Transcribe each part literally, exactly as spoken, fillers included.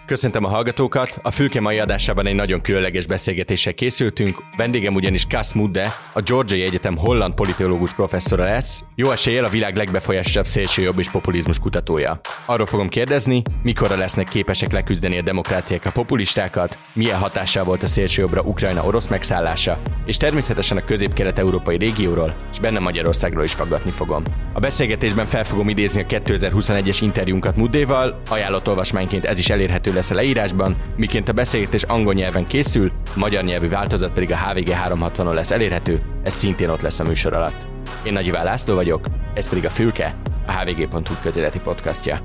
Köszöntöm a hallgatókat! A Fülke mai adásában egy nagyon különleges beszélgetéssel készültünk. Vendégem ugyanis Cas Mudde, a Georgiai Egyetem holland politológus professzora lesz, jó eséllyel a világ legbefolyásosabb szélsőjobb és populizmus kutatója. Arról fogom kérdezni, mikorra lesznek képesek leküzdeni a demokráciák a populistákat, milyen hatással volt a szélsőjobbra Ukrajna orosz megszállása, és természetesen a közép-kelet-európai régióról, és benne Magyarországról is faggatni fogom. A beszélgetésben fel fogom idézni a kétezer-huszonegyes interjúnkat Muddéval, ajánlott olvasmányként ez is elérhető lesz a leírásban, miként a beszélgetés angol nyelven készül, a magyar nyelvű változat pedig a há vé gé háromszázhatvanon lesz elérhető, ez szintén ott lesz a műsor alatt. Én Nagy Iván László vagyok, ez pedig a Fülke, a há vé gé pont hu közéleti podcastja.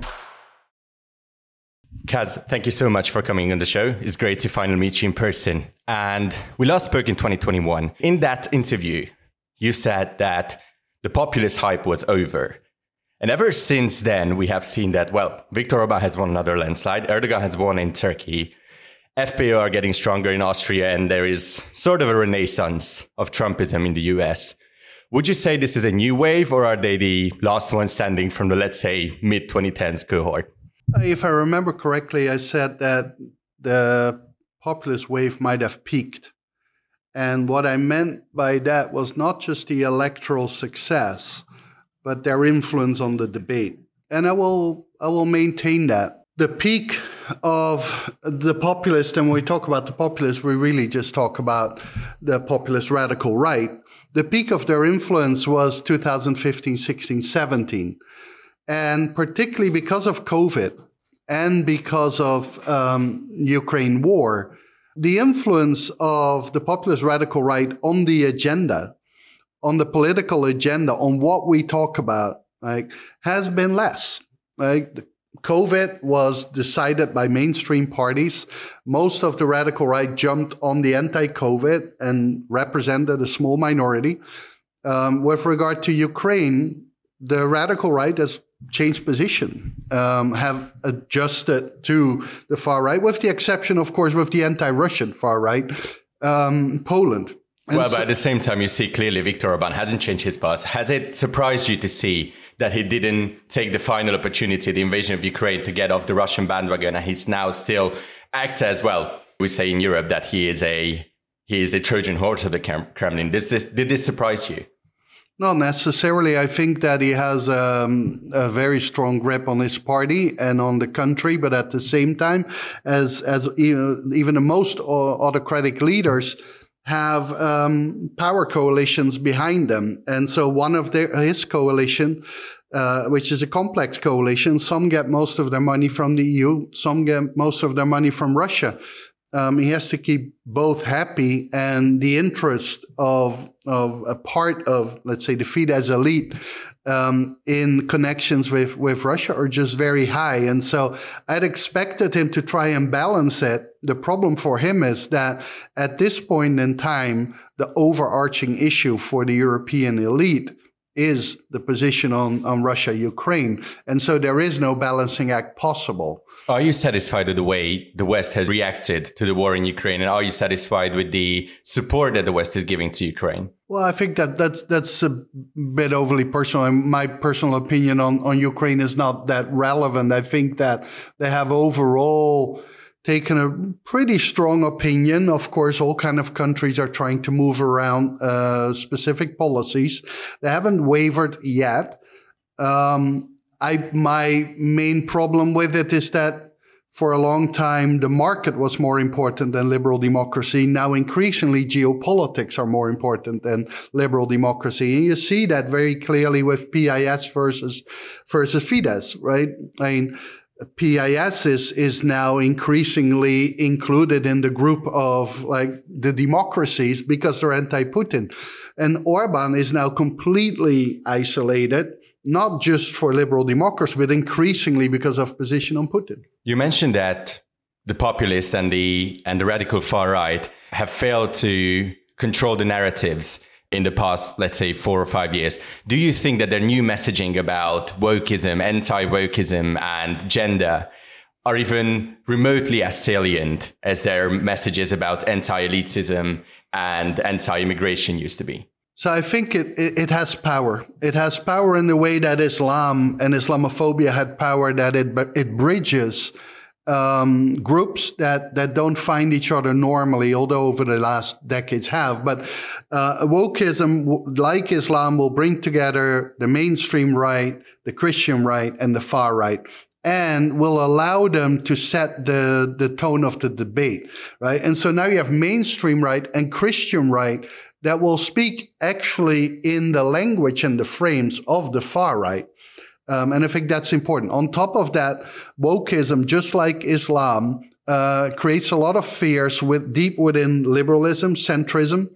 Kaz, thank you so much for coming on the show. It's great to finally meet you in person. And we last spoke in twenty twenty-one. In that interview, you said that the populist hype was over. And ever since then, we have seen that, well, Viktor Orbán has won another landslide, Erdogan has won in Turkey, F P Ö are getting stronger in Austria, and there is sort of a renaissance of Trumpism in the U S. Would you say this is a new wave, or are they the last one standing from the, let's say, mid twenty tens cohort? If I remember correctly, I said that the populist wave might have peaked. And what I meant by that was not just the electoral success, but their influence on the debate. And I will I will maintain that. The peak of the populist, and when we talk about the populist, we really just talk about the populist radical right. The peak of their influence was two thousand fifteen, sixteen, seventeen. And particularly because of COVID and because of um, Ukraine war, the influence of the populist radical right on the agenda, on the political agenda, on what we talk about, like, has been less. Like, COVID was decided by mainstream parties. Most of the radical right jumped on the anti-COVID and represented a small minority. Um, with regard to Ukraine, the radical right has changed position, um, have adjusted to the far right, with the exception, of course, with the anti-Russian far right, um, Poland. And well, so, but at the same time, you see clearly Viktor Orbán hasn't changed his path. Has it surprised you to see that he didn't take the final opportunity, the invasion of Ukraine, to get off the Russian bandwagon, and he's now still acts as well? We say in Europe that he is a he is the Trojan horse of the Kremlin. Does this, did this surprise you? Not necessarily. I think that he has um, a very strong grip on his party and on the country, but at the same time, as as even, even the most autocratic leaders have um, power coalitions behind them. And so one of their, his coalition, uh, which is a complex coalition, some get most of their money from the E U, some get most of their money from Russia. Um, he has to keep both happy, and the interest of of a part of, let's say, the Fidesz elite um, in connections with, with Russia are just very high. And so I'd expected him to try and balance it. The problem for him is that at this point in time, the overarching issue for the European elite is the position on, on Russia, Ukraine. And so there is no balancing act possible. Are you satisfied with the way the West has reacted to the war in Ukraine? And are you satisfied with the support that the West is giving to Ukraine? Well, I think that that's, that's a bit overly personal. And my personal opinion on, on Ukraine is not that relevant. I think that they have overall taken a pretty strong opinion. Of course, all kind of countries are trying to move around uh, specific policies. They haven't wavered yet. Um, I my main problem with it is that for a long time, the market was more important than liberal democracy. Now, increasingly, geopolitics are more important than liberal democracy. And you see that very clearly with P I S versus, versus Fidesz, right? I mean, P I S is, is now increasingly included in the group of like the democracies because they're anti-Putin. And Orbán is now completely isolated, not just for liberal democracy, but increasingly because of position on Putin. You mentioned that the populists and the and the radical far right have failed to control the narratives in the past, let's say, four or five years. Do you think that their new messaging about wokeism, anti-wokeism, and gender are even remotely as salient as their messages about anti-elitism and anti-immigration used to be? So I think it, it, it has power. It has power in the way that Islam and Islamophobia had power, that it it bridges um, groups that, that don't find each other normally, although over the last decades have. But uh, wokeism, like Islam, will bring together the mainstream right, the Christian right, and the far right, and will allow them to set the, the tone of the debate, right? And so now you have mainstream right and Christian right that will speak actually in the language and the frames of the far right. Um, and I think that's important. On top of that, wokeism, just like Islam, uh, creates a lot of fears with deep within liberalism, centrism.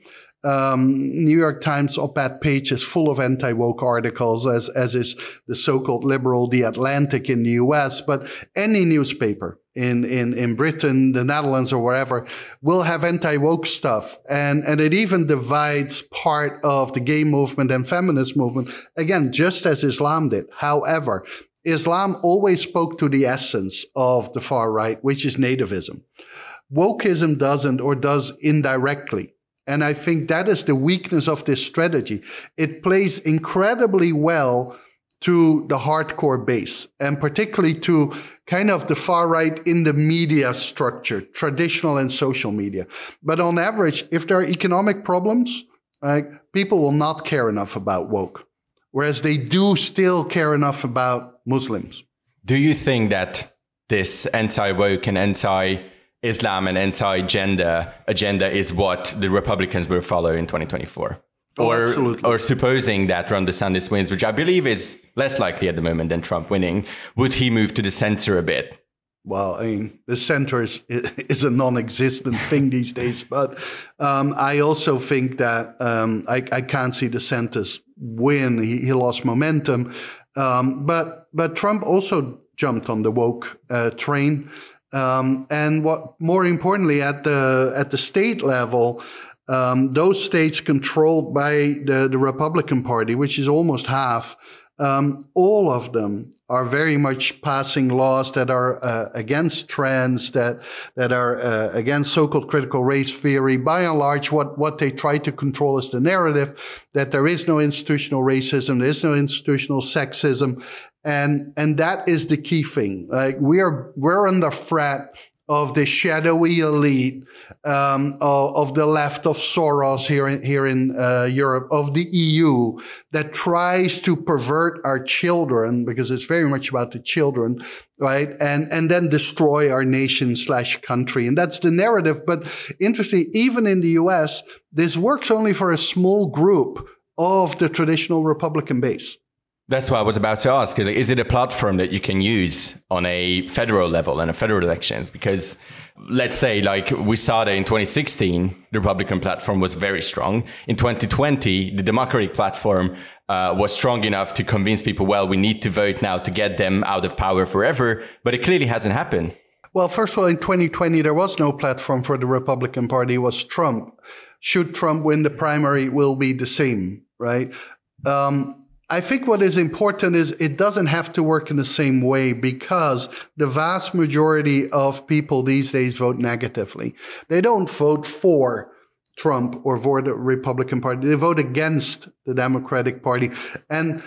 Um, New York Times op-ed page is full of anti-woke articles, as, as is the so-called liberal The Atlantic in the U S. But any newspaper in, in, in Britain, the Netherlands, or wherever will have anti-woke stuff. And, and it even divides part of the gay movement and feminist movement, again, just as Islam did. However, Islam always spoke to the essence of the far right, which is nativism. Wokeism doesn't, or does indirectly. And I think that is the weakness of this strategy. It plays incredibly well to the hardcore base, and particularly to kind of the far right in the media structure, traditional and social media. But on average, if there are economic problems, like, people will not care enough about woke, whereas they do still care enough about Muslims. Do you think that this anti-woke and anti-Islam and anti-gender agenda is what the Republicans will follow in twenty twenty-four? Oh, or, absolutely. or supposing that Ron DeSantis wins, which I believe is less likely at the moment than Trump winning, would he move to the center a bit? Well, I mean, the center is, is a non-existent thing these days. But um, I also think that um, I, I can't see DeSantis win. He, he lost momentum. Um, but but Trump also jumped on the woke uh, train. Um, and what more importantly, at the at the state level, um, those states controlled by the, the Republican Party, which is almost half, um, all of them are very much passing laws that are uh, against trans, that that are uh, against so-called critical race theory. By and large, what, what they try to control is the narrative that there is no institutional racism, there is no institutional sexism, and and that is the key thing. Like, we are we're under threat of the shadowy elite, um, of, of the left, of Soros here in, here in uh, Europe, of the E U, that tries to pervert our children, because it's very much about the children, right? And and then destroy our nation slash country. And that's the narrative. But interesting, even in the U S, this works only for a small group of the traditional Republican base. That's what I was about to ask. Is it a platform that you can use on a federal level and a federal elections? Because let's say, like we saw that in twenty sixteen, the Republican platform was very strong. In twenty twenty, the Democratic platform uh, was strong enough to convince people, well, we need to vote now to get them out of power forever. But it clearly hasn't happened. Well, first of all, in twenty twenty, there was no platform for the Republican Party. It was Trump. Should Trump win the primary, it will be the same, right? Um, I think what is important is it doesn't have to work in the same way, because the vast majority of people these days vote negatively. They don't vote for Trump or for the Republican Party. They vote against the Democratic Party. And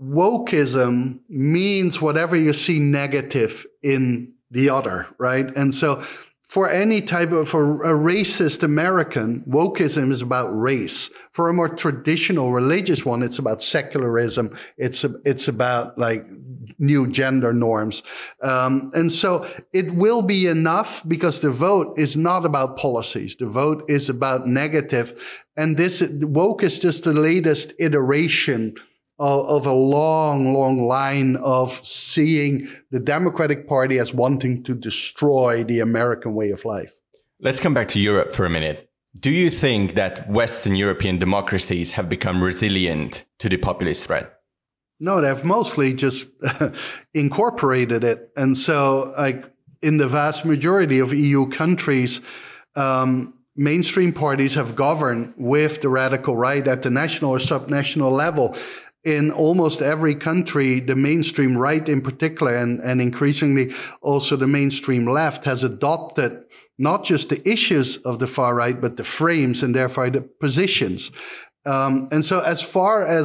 wokeism means whatever you see negative in the other, right? And so for any type of, for a racist American, wokeism is about race. For a more traditional religious one, it's about secularism. It's, it's about like new gender norms. Um, and so it will be enough, because the vote is not about policies. The vote is about negative. And this woke is just the latest iteration of a long, long line of seeing the Democratic Party as wanting to destroy the American way of life. Let's come back to Europe for a minute. Do you think that Western European democracies have become resilient to the populist threat? No, they've mostly just incorporated it. And so, like, in the vast majority of E U countries, um, mainstream parties have governed with the radical right at the national or subnational level. In almost every country, the mainstream right in particular, and, and increasingly also the mainstream left, has adopted not just the issues of the far right, but the frames and therefore the positions. Um, and so as far as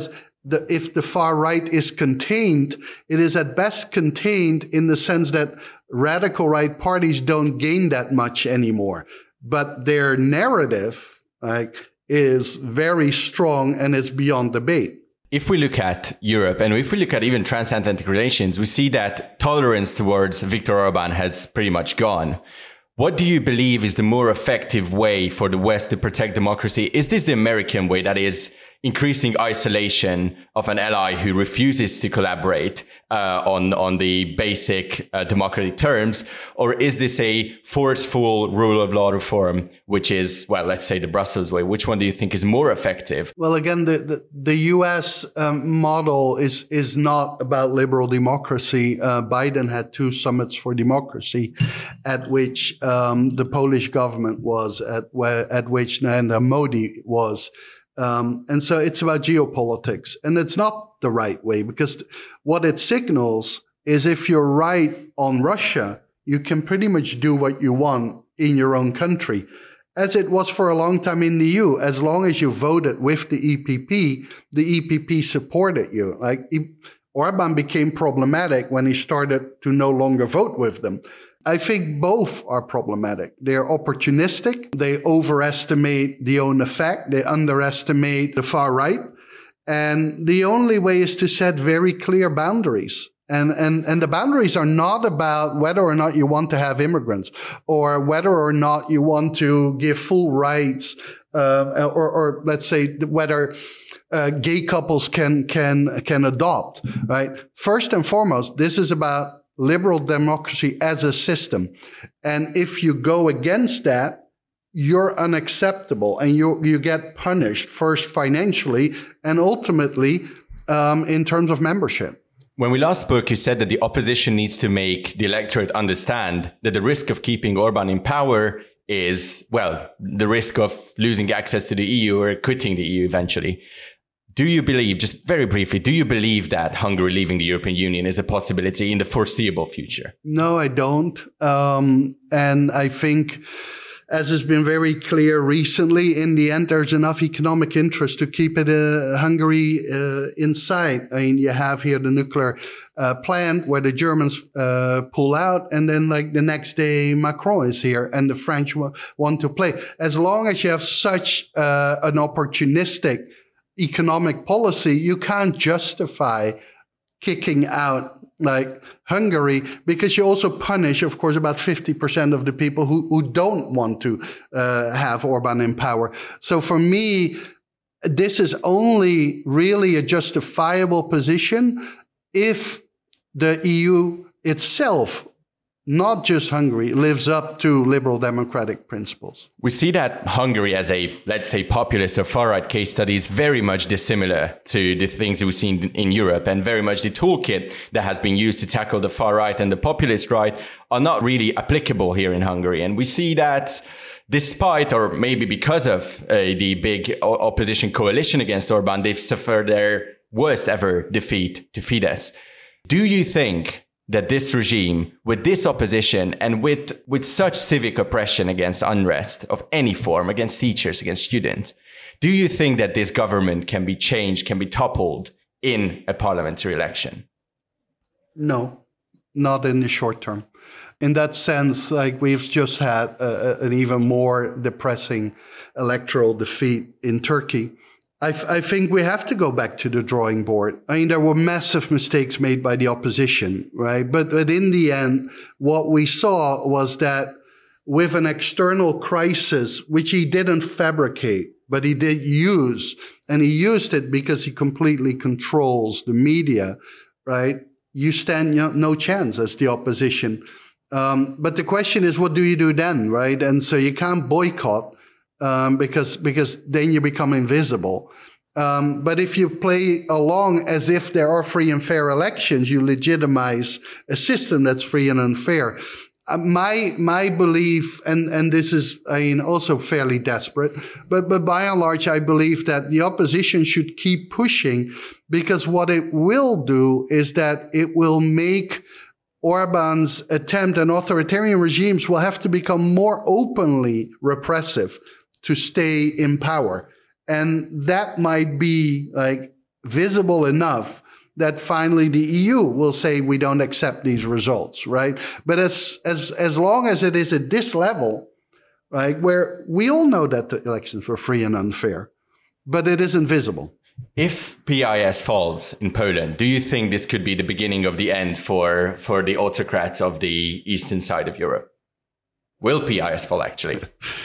the, if the far right is contained, it is at best contained in the sense that radical right parties don't gain that much anymore. But their narrative like, is very strong and is beyond debate. If we look at Europe and if we look at even transatlantic relations, we see that tolerance towards Viktor Orban has pretty much gone. What do you believe is the more effective way for the West to protect democracy? Is this the American way, that is increasing isolation of an ally who refuses to collaborate uh, on, on the basic uh, democratic terms? Or is this a forceful rule of law reform, which is, well, let's say the Brussels way? Which one do you think is more effective? Well, again, the, the, the U S um, model is, is not about liberal democracy. Uh, Biden had two summits for democracy at which um, the Polish government was, at, at which Narendra Modi was. Um, and so it's about geopolitics, and it's not the right way, because what it signals is if you're right on Russia, you can pretty much do what you want in your own country, as it was for a long time in the E U. As long as you voted with the E P P, the E P P supported you. Like Orban became problematic when he started to no longer vote with them. I think both are problematic. They're opportunistic. They overestimate the own effect. They underestimate the far right. And the only way is to set very clear boundaries. And, and, and the boundaries are not about whether or not you want to have immigrants or whether or not you want to give full rights, uh, or, or let's say whether uh, gay couples can, can, can adopt, right? First and foremost, this is about liberal democracy as a system. And if you go against that, you're unacceptable and you you get punished, first financially and ultimately um, in terms of membership. When we last spoke, you said that the opposition needs to make the electorate understand that the risk of keeping Orban in power is, well, the risk of losing access to the E U or quitting the E U eventually. Do you believe, just very briefly, do you believe that Hungary leaving the European Union is a possibility in the foreseeable future? No, I don't. Um, and I think, as has been very clear recently, in the end, there's enough economic interest to keep it uh, Hungary uh, inside. I mean, you have here the nuclear uh, plant where the Germans uh, pull out, and then like the next day Macron is here and the French w- want to play. As long as you have such uh, an opportunistic economic policy, you can't justify kicking out like Hungary, because you also punish, of course, about fifty percent of the people who, who don't want to uh, have Orban in power. So for me, this is only really a justifiable position if the E U itself, not just Hungary, lives up to liberal democratic principles. We see that Hungary as a, let's say, populist or far-right case study is very much dissimilar to the things we've seen in Europe, and very much the toolkit that has been used to tackle the far right and the populist right are not really applicable here in Hungary. And we see that despite, or maybe because of uh, the big o- opposition coalition against Orban, they've suffered their worst ever defeat to Fidesz. Do you think that this regime, with this opposition and with, with such civic oppression against unrest of any form, against teachers, against students, do you think that this government can be changed, can be toppled in a parliamentary election? No, not in the short term. In that sense, like we've just had a, an even more depressing electoral defeat in Turkey. I, f- I think we have to go back to the drawing board. I mean, there were massive mistakes made by the opposition, right? But, but in the end, what we saw was that with an external crisis, which he didn't fabricate, but he did use, and he used it because he completely controls the media, right? You stand no, no chance as the opposition. Um, but the question is, what do you do then, right? And so you can't boycott. Um, because because then you become invisible. Um, but if you play along as if there are free and fair elections, you legitimize a system that's free and unfair. Uh, my my belief, and, and this is I mean also fairly desperate, but but by and large, I believe that the opposition should keep pushing, because what it will do is that it will make Orban's attempt, and authoritarian regimes will have to become more openly repressive to stay in power. And that might be like visible enough that finally the E U will say we don't accept these results, right? But as as as long as it is at this level, right, where we all know that the elections were free and unfair, but it isn't visible. If P I S falls in Poland, do you think this could be the beginning of the end for, for the autocrats of the eastern side of Europe? Will P I S fall, actually?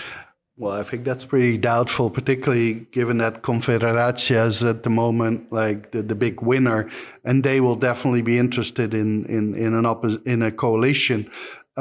Well, I think that's pretty doubtful, particularly given that Confederacja is at the moment like the, the big winner, and they will definitely be interested in in in an oppos- in a coalition.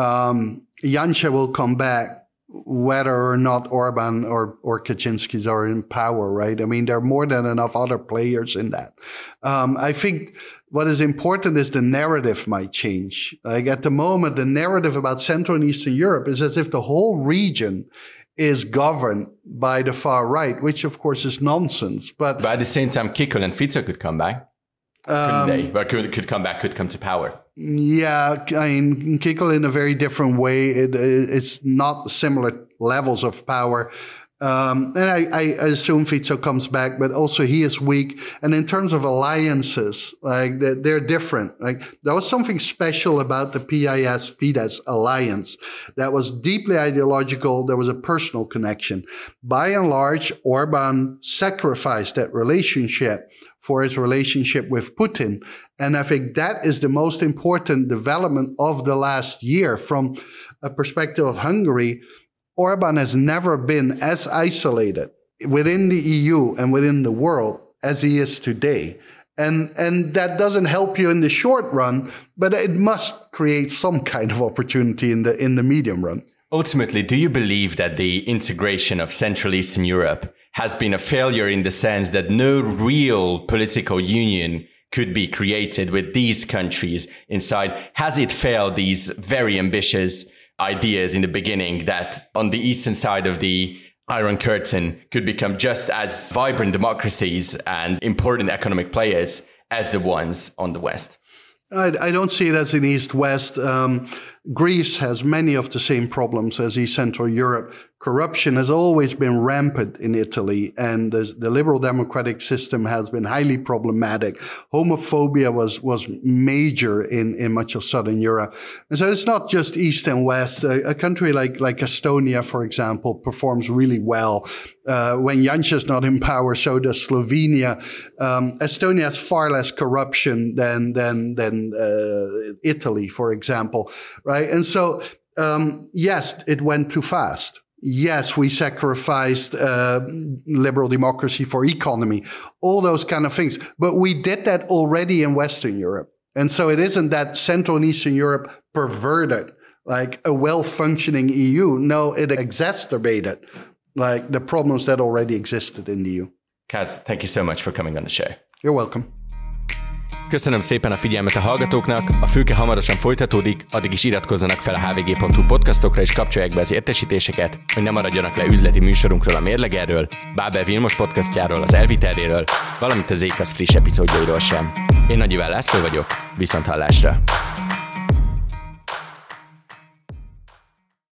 Um, Janša will come back, whether or not Orban or, or Kaczynski's are in power, right? I mean, there are more than enough other players in that. Um, I think what is important is the narrative might change. Like at the moment, the narrative about Central and Eastern Europe is as if the whole region is governed by the far right, which of course is nonsense. But, but at the same time, Kikel and Fico could come back. Couldn't um, they? But could, could come back, could come to power. Yeah, I mean, Kikel in a very different way. It, it's not similar levels of power. Um, and I, I assume Fico comes back, but also he is weak. And in terms of alliances, like they're, they're different. Like there was something special about the P I S-Fidesz alliance that was deeply ideological. There was a personal connection. By and large, Orban sacrificed that relationship for his relationship with Putin. And I think that is the most important development of the last year from a perspective of Hungary. Orban has never been as isolated within the E U and within the world as he is today. And, and that doesn't help you in the short run, but it must create some kind of opportunity in the, in the medium run. Ultimately, do you believe that the integration of Central Eastern Europe has been a failure in the sense that no real political union could be created with these countries inside? Has it failed these very ambitious ideas in the beginning that on the eastern side of the Iron Curtain could become just as vibrant democracies and important economic players as the ones on the West? I, I don't see it as an East-West. Um, Greece has many of the same problems as East Central Europe. Corruption has always been rampant in Italy, and the, the liberal democratic system has been highly problematic. Homophobia was was major in, in much of Southern Europe. And so it's not just East and West. A, a country like, like Estonia, for example, performs really well. Uh, when Janša is not in power, so does Slovenia. Um, Estonia has far less corruption than, than, than uh, Italy, for example, right? And so, um, yes, it went too fast. Yes, we sacrificed uh, liberal democracy for economy, all those kind of things. But we did that already in Western Europe. And so it isn't that Central and Eastern Europe perverted like a well-functioning E U. No, it exacerbated like the problems that already existed in the E U. Kaz, thank you so much for coming on the show. You're welcome. Köszönöm szépen a figyelmet a hallgatóknak, a Fülke hamarosan folytatódik, addig is iratkozzanak fel a hvg pont hu podcastokra és kapcsolják be az értesítéseket, hogy ne maradjanak le üzleti műsorunkról, a Mérlegerről, Bábel Vilmos podcastjáról, az Elviterréről, valamint az Zcash friss epizódjairól sem. Én Nagy Iván László vagyok, viszont hallásra!